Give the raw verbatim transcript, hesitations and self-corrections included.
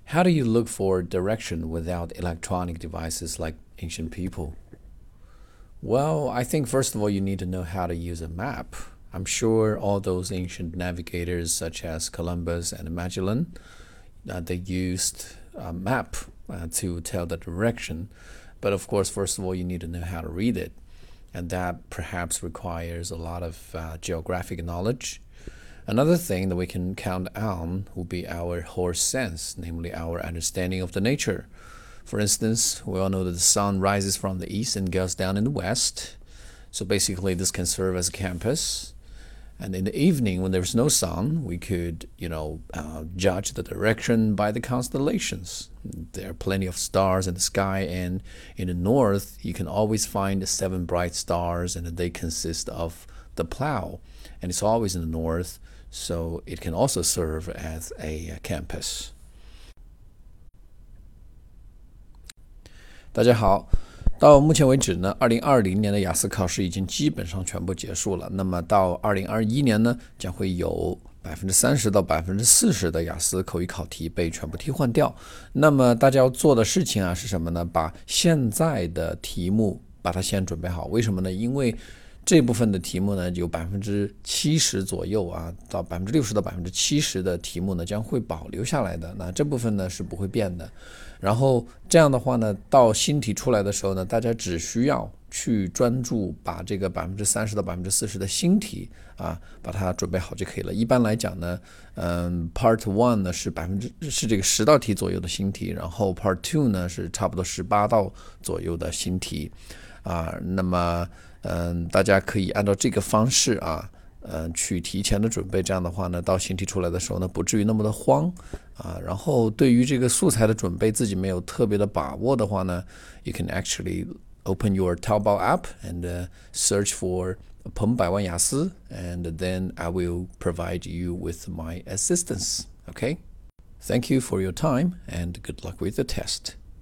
How do you look for direction without electronic devices like ancient people? Well, I think first of all, you need to know how to use a map. I'm sure all those ancient navigators, such as Columbus and Magellan, uh, they used a map uh, to tell the direction. But of course, first of all, you need to know how to read it. And that perhaps requires a lot of uh, geographic knowledge. Another thing that we can count on will be our horse sense, namely our understanding of the nature. For instance, we all know that the sun rises from the east and goes down in the west. So basically, this can serve as a compass. And in the evening, when there's no sun, we could, you know, uh, judge the direction by the constellations. There are plenty of stars in the sky, and in the north, you can always find the seven bright stars, and they consist of the plow. And it's always in the north, so it can also serve as a compass. 大家好，到目前为止呢，二零二零年的雅思考试已经基本上全部结束了。那么到二零二一年呢，将会有百分之三十到百分之四十的雅思口语考题被全部替换掉。那么大家要做的事情啊是什么呢？把现在的题目把它先准备好。为什么呢？因为这部分的题目呢，有百分之七十左右啊，到百分之六十到百分之七十的题目呢，将会保留下来的。那这部分呢是不会变的。然后这样的话呢，到新题出来的时候呢，大家只需要去专注把这个百分之三十到百分之四十的新题啊，把它准备好就可以了。一般来讲呢，嗯 ，Part One 呢是百分之是这个十道题左右的新题，然后 Part Two 呢是差不多十八道左右的新题啊。那么嗯，大家可以按照这个方式啊。嗯，去提前的准备，这样的话呢，到新题出来的时候呢，不至于那么的慌啊。然后对于这个素材的准备，自己没有特别的把握的话呢 ，you can actually open your Taobao app and uh, search for 彭百万雅思 and then I will provide you with my assistance. Okay? Thank you for your time and good luck with the test.